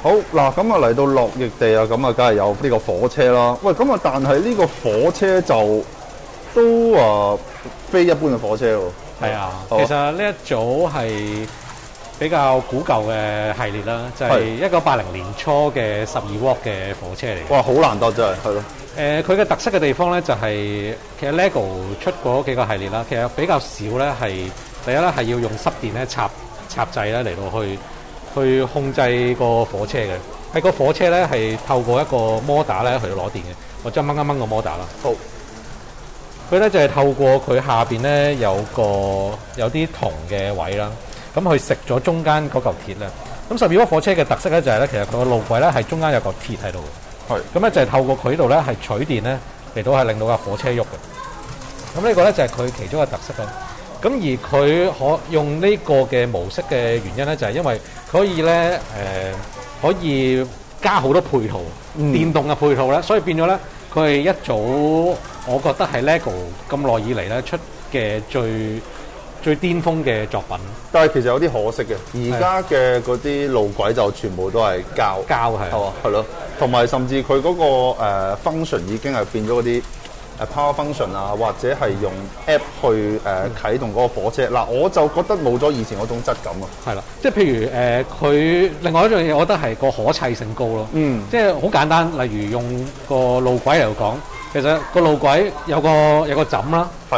好嗱，咁啊嚟到落翼地啊，咁啊梗係有呢個火車啦。喂，咁啊但係呢個火車就都非一般嘅火車喎。 係啊， 好其實呢一組係比較古舊嘅系列啦，就係1980年初嘅12W嘅火車嚟嘅。 哇，好難得真係，係咯。 佢嘅特色嘅地方咧，就係其實 LEGO 出嗰幾個系列啦，其實比較少咧係第一咧係要用濕電咧插掣咧嚟到去控制個火車嘅。喺個火車咧係透過一個摩打咧去到攞電嘅。我將掹一掹個摩打啦。 好。 佢咧就係透過佢下邊咧有啲銅嘅位啦，咁佢食咗中間嗰嚿鐵咧。咁12W火車嘅特色咧就係咧，其實佢個路軌咧係中間有嚿鐵喺度嘅。 係。咁咧就係透過佢呢度咧係取電咧嚟到係令到架火車喐嘅。咁呢個咧就係佢其中嘅特色啦。咁而佢可用呢個嘅模式嘅原因咧，就係因為佢可以咧可以加好多配套，電動嘅配套咧，所以變咗咧佢係一組我覺得係 LEGO 咁耐以嚟咧出嘅最巔峰嘅作品。 但係其實有啲可惜嘅，而家嘅嗰啲路軌就全部都係膠係嘛，係咯，同埋甚至佢嗰個function 已經係變咗嗰啲power function 啊，或者係用 app 去啟動嗰個火車。嗱，我就覺得冇咗以前嗰種質感啊。 係啦，即係譬如佢另外一樣嘢，我覺得係個可砌性高咯。即係好簡單，例如用個路軌嚟講，其實個路軌有個枕啦， 係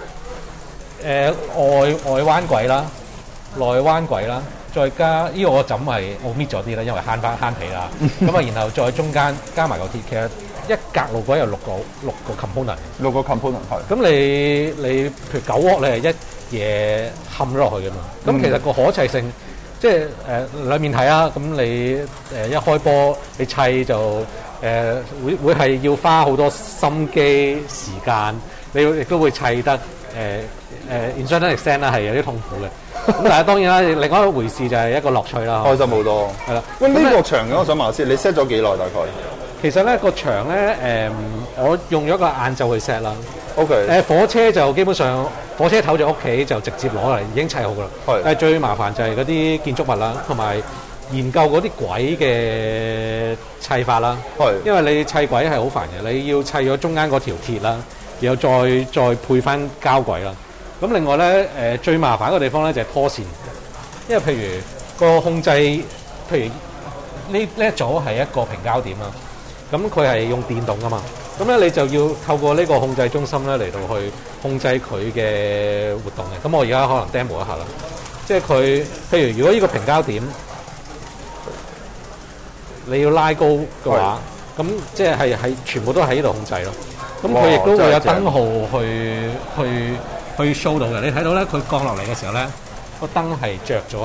外彎軌啦，內彎軌啦，再加呢個枕係我搣咗啲啦，因為慳皮啦。咁啊，然後再中間加埋個鐵，其實一格路軌有六個 component。 6個 component 係。 咁你譬如9W你係一嘢冚咗落去㗎嘛。咁其實個可砌性即係兩面睇啊。咁你一開波你砌就會係要花好多心機時間，你亦都會砌得in certain extent 啦，係有啲痛苦嘅。咁但係當然啦，另外一回事就係一個樂趣啦。 開心好多。係啦。喂，呢個場嘅我想問下先，你 set 咗幾耐大概？ 其實咧個場咧我用咗個晏晝去 set 啦。 OK。 火車就基本上火車頭就屋企就直接攞嚟已經砌好㗎啦。 係。 但係最麻煩就係嗰啲建築物啦，同埋研究嗰啲軌嘅砌法啦。 係。因為你砌軌係好煩嘅，你要砌咗中間嗰條鐵啦，然後再配翻膠軌啦。咁另外咧最麻煩一個地方咧就係拖線，因為譬如個控制，譬如呢一組係一個平交點啦。咁佢係用電動㗎嘛，咁咧你就要透過呢個控制中心咧嚟到去控制佢嘅活動嘅。咁我而家可能 demo 一下啦，即係佢譬如如果呢個平交點你要拉高嘅話，咁即係全部都喺呢度控制咯。咁佢亦都會有燈號去 show 到嘅。你睇到咧，佢降落嚟嘅時候咧，個燈係着咗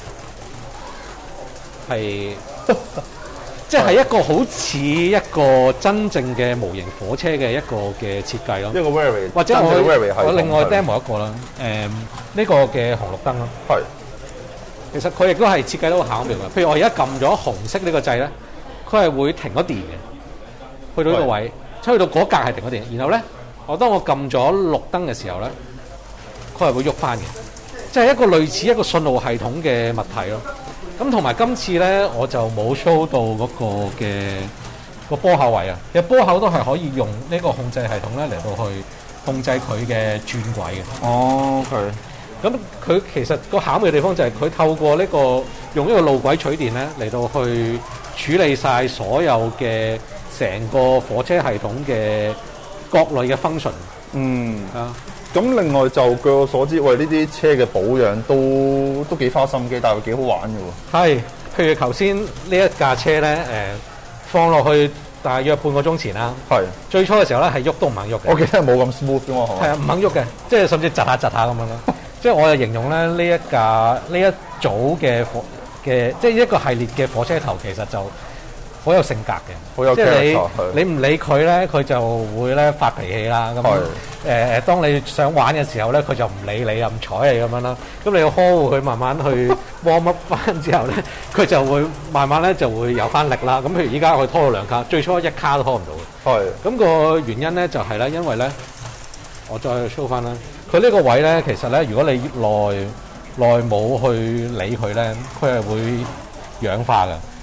係。即係一個好似一個真正嘅模型火車嘅一個嘅設計咯， 一個 very 或者我另外 demo 一個啦，呢個嘅紅綠燈咯， 係， 其實佢亦都係設計得好巧妙嘅。譬如我而家撳咗紅色呢個掣咧，佢係會停咗電嘅，去到呢個位，去到嗰格係停咗電，然後咧，當我撳咗綠燈嘅時候咧，佢係會喐翻嘅，即係一個類似一個信號系統嘅物體咯。咁同埋今次咧，我就冇 show 到嗰個嘅個波口位啊。其實波口都係可以用呢個控制系統咧嚟到去控制佢嘅轉軌嘅。 哦，OK。 咁佢其實個巧妙嘅地方就係佢透過呢個用呢個路軌取電咧嚟到去處理晒所有嘅成個火車系統嘅各類嘅 function。咁另外就據我所知，喂呢啲車嘅保養都幾花心機，但係幾好玩嘅喎。係， 譬如頭先呢一架車咧，放落去大約半個鐘前啦。係。最初嘅時候咧係喐都唔肯喐嘅。 我記得係冇咁 smooth 嘅嘛，係嘛？ 係啊，唔肯喐嘅，即係甚至窒下咁樣咯。即係我就形容咧呢一組嘅即係一個系列嘅火車頭，其實就好有性格嘅， 好有 character。 你唔理佢咧，佢就會咧發脾氣啦。咁當你想玩嘅時候咧，佢就唔理你，又唔睬你咁樣啦。咁你要呵護佢，慢慢去 warm up 翻之後咧，佢就會慢慢咧就會有翻力啦。咁譬如依家佢拖到2卡，最初1卡都拖唔到嘅。咁個原因咧就係咧，因為咧我再 show 翻啦，佢呢個位咧其實咧，如果你耐冇去理佢咧，佢係會氧化嘅。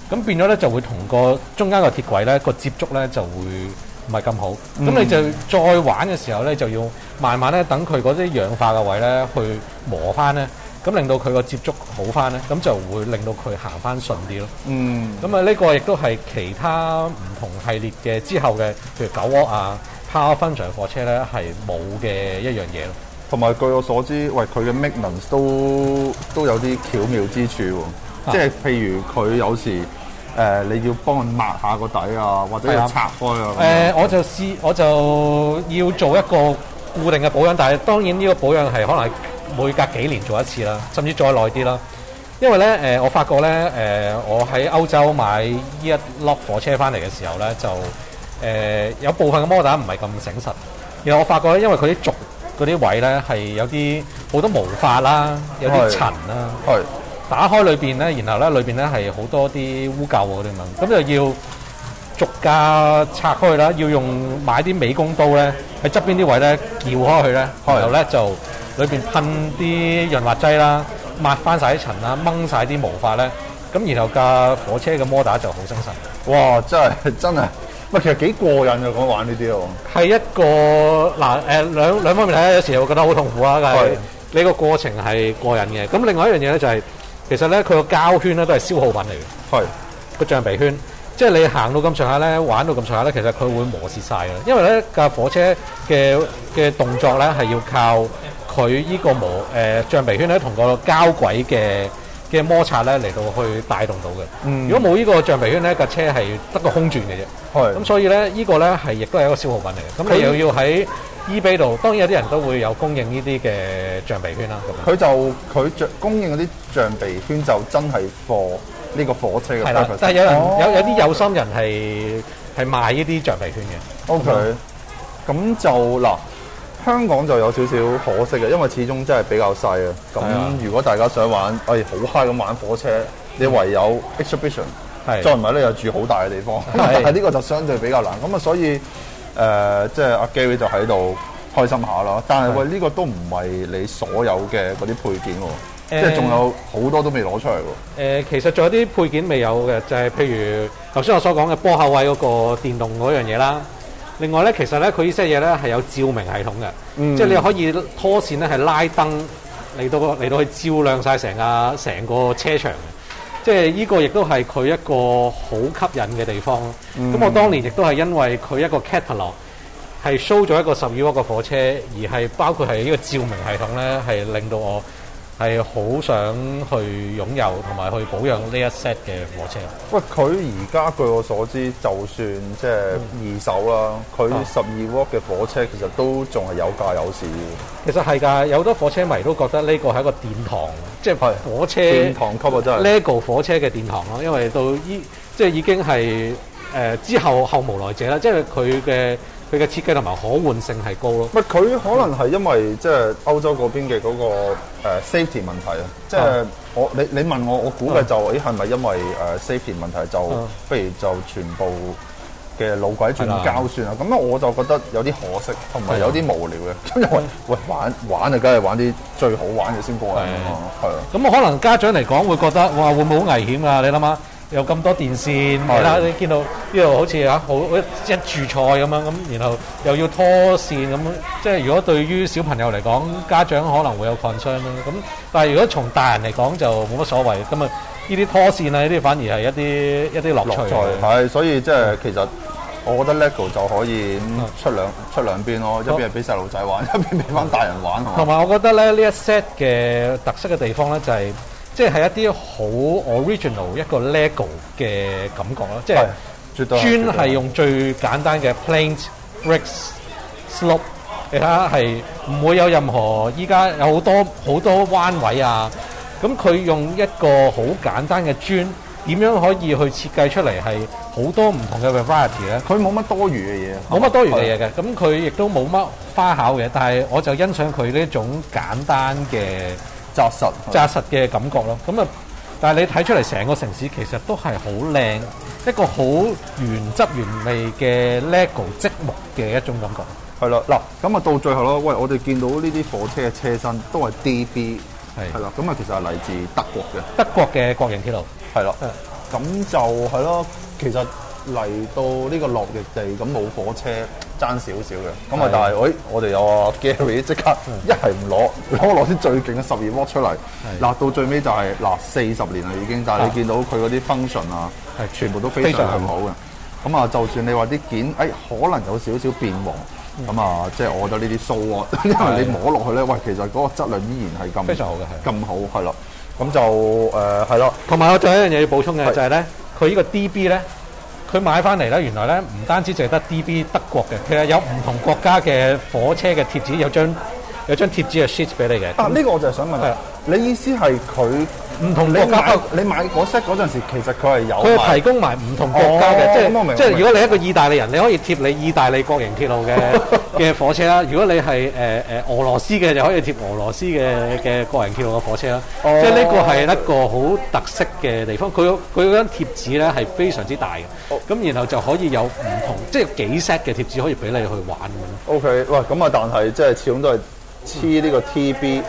咁變咗咧就會同個中間個鐵軌咧個接觸咧就會唔係咁好。咁你就再玩嘅時候咧，就要慢慢咧等佢嗰啲氧化嘅位咧去磨翻咧，咁令到佢個接觸好翻咧，咁就會令到佢行翻順啲咯。咁啊呢個亦都係其他唔同系列嘅之後嘅，譬如9W啊、Power Function 貨車咧係冇嘅一樣嘢咯。 同埋據我所知，喂佢嘅 maintenance 都有啲巧妙之處喎。即係譬如佢有時你要幫佢抹下個底啊，或者要拆開啊。 我就要做一個固定嘅保養，但係當然呢個保養係可能係每隔幾年做一次啦，甚至再耐啲啦。因為咧我發覺咧我喺歐洲買呢一粒火車翻嚟嘅時候咧，就有部分嘅摩打唔係咁醒實。然後我發覺咧，因為佢啲軸嗰啲位咧係有啲好多毛髮啦，有啲塵啦，打開裏邊咧，然後咧裏邊咧係好多啲污垢嗰啲咁，咁就要逐架拆開去啦，要用買啲美工刀咧喺側邊啲位咧撬開佢咧，然後咧就裏邊噴啲潤滑劑啦，抹翻晒啲塵啦，掹晒啲毛髮咧，咁然後架火車嘅摩打就好精神。 哇！真係，喂，其實幾過癮啊！講玩呢啲喎。係一個兩方面睇，有時會覺得好痛苦啊，但係呢個過程係過癮嘅。咁另外一樣嘢咧就係、其實咧佢個膠圈咧都係消耗品嚟嘅。個橡皮圈，即係你行到咁上下咧，玩到咁上下咧，其實佢會磨蝕晒嘅。因為咧架火車嘅動作咧係要靠佢呢個橡皮圈咧同個膠軌嘅摩擦咧嚟到去帶動到嘅。如果冇呢個橡皮圈咧，架車係得個空轉嘅啫。咁所以咧呢個咧係亦都係一個消耗品嚟嘅。咁你又要喺eBay 度，當然有啲人都會有供應呢啲嘅橡皮圈啦。佢供應嗰啲橡皮圈就真係貨呢個火車嘅。係啦，但係有啲有心人係賣呢啲橡皮圈嘅。OK，咁就嗱，香港就有少少可惜嘅，因為始終真係比較細啊。咁如果大家想玩，好 high 咁玩火車，你唯有 exhibition，再唔係咧又住好大嘅地方，但係呢個就相對比較難。咁啊，所以即係阿 Gary 就喺度開心下啦。但係喂，呢個都唔係你所有嘅嗰啲配件喎，即係仲有好多都未攞出嚟喎。其實仲有啲配件未有嘅，就係譬如頭先我所講嘅波口位嗰個電動嗰樣嘢啦。另外咧，其實咧佢呢些嘢咧係有照明系統嘅，即係你可以拖線咧係拉燈嚟到去照亮晒成個車場嘅。即係呢個亦都係佢一個好吸引嘅地方咯。咁我當年亦都係因為佢一個 catalog 係 show 咗一個12W嘅火車，而係包括係呢個照明系統咧，係令到我係好想去擁有同埋去保養呢一 set 嘅火車。喂，佢而家據我所知，就算即係二手啦，佢12W嘅火車其實都仲係有價有市嘅。其實係㗎，有好多火車迷都覺得呢個係一個殿堂，即係火車殿堂級啊！真係 LEGO 火車嘅殿堂咯，因為到即係已經係之後無來者啦，即係佢嘅設計同埋可換性係高咯。佢可能係因為即係歐洲嗰邊嘅嗰個safety 問題啊，即係你問我估計就係咪因為safety 問題就不如就全部嘅路軌轉膠算啊？咁我就覺得有啲可惜，同埋有啲無聊嘅。因為喂玩就梗係玩啲最好玩嘅先過癮啊嘛。係啊。咁可能家長嚟講會覺得哇，會唔會好危險啊？你諗下。有咁多電線，你見到呢度好似好一柱菜咁樣，咁然後又要拖線咁，即係如果對於小朋友嚟講，家長可能會有 concern 啦。咁但係如果從大人嚟講就冇乜所謂。咁啊，呢啲拖線啊，呢啲反而係一啲樂趣。係，所以即係其實我覺得 LEGO 就可以出兩邊咯，一邊係俾細路仔玩，一邊俾翻大人玩。同埋我覺得咧，呢一 set 嘅特色嘅地方咧就係。即係一啲好 original 一個 LEGO 嘅感覺咯，即係專係用最簡單嘅 planes、bricks、slope， 你睇下係唔會有任何依家有好多彎位啊，咁佢用一個好簡單嘅磚，點樣可以去設計出嚟係好多唔同嘅 variety 咧？佢冇乜多餘嘅嘢，冇乜多餘嘅嘢嘅，咁佢亦都冇乜花巧嘅，但係我就欣賞佢呢種簡單嘅。紮實嘅感覺咯，咁啊，但係你睇出嚟成個城市其實都係好靚，一個好原汁原味嘅 LEGO 積木嘅一種感覺。係啦，嗱，咁啊到最後咯，喂，我哋見到呢啲火車嘅車身都係 DB，係啦，咁啊其實係嚟自德國嘅國營鐵路，係啦， 咁就係咯，其實嚟到呢個落翼地，咁冇火車爭少少嘅。咁啊，但係我哋有阿 Gary 即刻一係唔攞啲最勁嘅12 W 出嚟。嗱，到最尾就係40年啦已經，但係你見到佢嗰啲 function 啊，係全部都非常好嘅。咁啊，就算你話啲件可能有少少變黃，咁啊，即係我覺得呢啲 so what，因為你摸落去咧，喂，其實嗰個質量依然係咁非常好嘅， 咁好係咯。咁就係咯。同埋我仲有一樣嘢要補充嘅就係咧，佢呢個 DB 咧，佢買翻嚟咧，原來咧唔單止淨係得 DB 德國嘅，其實有唔同國家嘅火車嘅貼紙，有張貼紙嘅 sheet 俾你嘅。 呢個我就係想問，你意思係佢唔同國家？你買嗰 set 嗰陣時，其實佢係有佢係提供埋唔同國家嘅，即係如果你係一個意大利人，你可以貼你意大利國營鐵路嘅火車啦。如果你係俄羅斯嘅，就可以貼俄羅斯嘅國營鐵路嘅火車啦。即係呢個係一個好特色嘅地方。佢嗰張貼紙咧係非常之大嘅，咁然後就可以有唔同，即係幾 set 嘅貼紙可以俾你去玩咁。 OK， 喂，咁啊，但係即係始終都係。黐呢個 TB，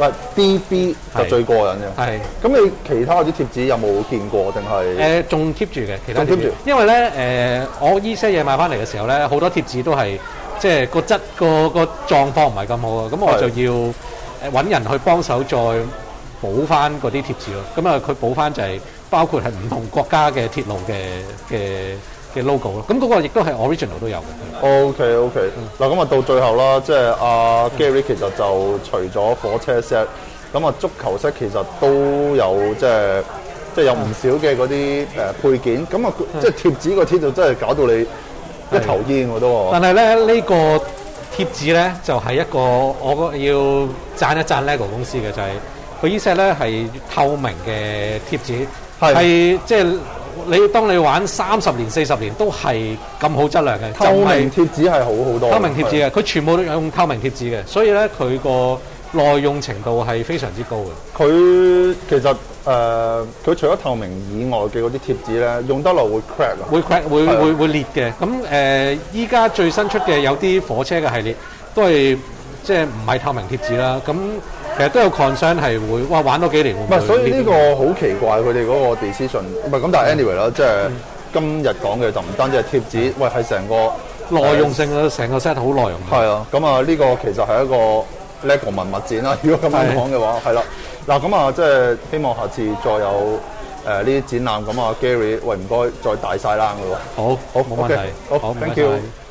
DB 就最過癮嘅。係。咁你其他嗰啲貼紙有冇見過定係？ 仲 keep 住嘅，其他貼住。因為咧我依些嘢買翻嚟嘅時候咧，好多貼紙都係即係個狀況唔係咁好啊，咁我就要揾人去幫手再補翻嗰啲貼紙咯。咁啊，佢補翻就係包括係唔同國家嘅鐵路嘅 logo 咯，咁嗰個亦都係 original 都有嘅。 OK， 嗱咁啊到最後啦，即係阿 Gary 其實就除咗火車 set，咁啊足球 set 其實都有即係有唔少嘅嗰啲配件，咁啊即係貼紙個貼就真係搞到你一頭煙我都。 但係咧呢個貼紙咧就係一個我要讚一讚 LEGO 公司嘅，就係佢呢 set 咧係透明嘅貼紙，係即係。當你玩30年、40年都係咁好質量嘅， 透明貼紙係好好多。 透明貼紙嘅，佢全部都用透明貼紙嘅，所以咧佢個耐用程度係非常之高嘅。 佢其實佢除咗透明以外嘅嗰啲貼紙咧，用得落會 crack 啊， 會 crack 會裂嘅。咁依家最新出嘅有啲火車嘅系列都係即係唔係透明貼紙啦。咁其實都有 concern 係會玩多幾年會唔會？ 唔係，所以呢個好奇怪佢哋嗰個 decision。唔係咁，但係 anyway 啦，即係今日講嘅就唔單止係貼紙，喂係成個耐用性啊，成個 set 好耐用。 係啊，咁啊呢個其實係一個 LEGO 文物展啦。如果咁樣講嘅話，係啦。嗱咁啊，即係希望下次再有呢啲展覽。咁啊 Gary，喂唔該再大晒冷㗎喎。 好，冇問題。 好，thank you。